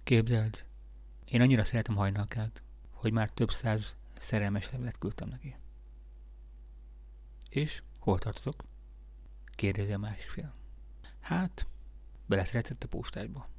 Képzeld, én annyira szeretem Hajnalkát, hogy már több száz szerelmes levelet küldtem neki. És hol tartotok? Kérdezi a másik fél. Hát, beleszeretett a postásba.